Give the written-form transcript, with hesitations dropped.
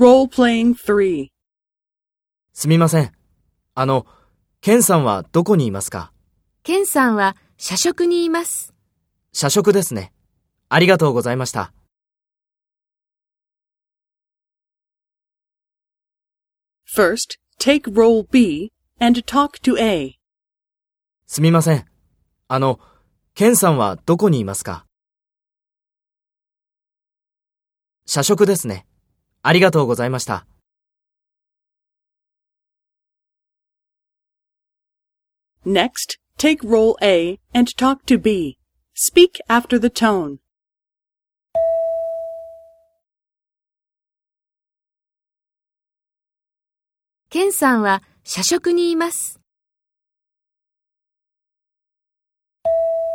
Role-playing 3. すみません。ケンさんはどこにいますか？ ケンさんは社食にいます。 社食ですね。ありがとうございました。 First, take role B and talk to A. すみません。ケンさんはどこにいますか？社食ですね。ありがとうございました。 Next, take role A and talk to B. Speak after the tone. ケンさんは社食にいます。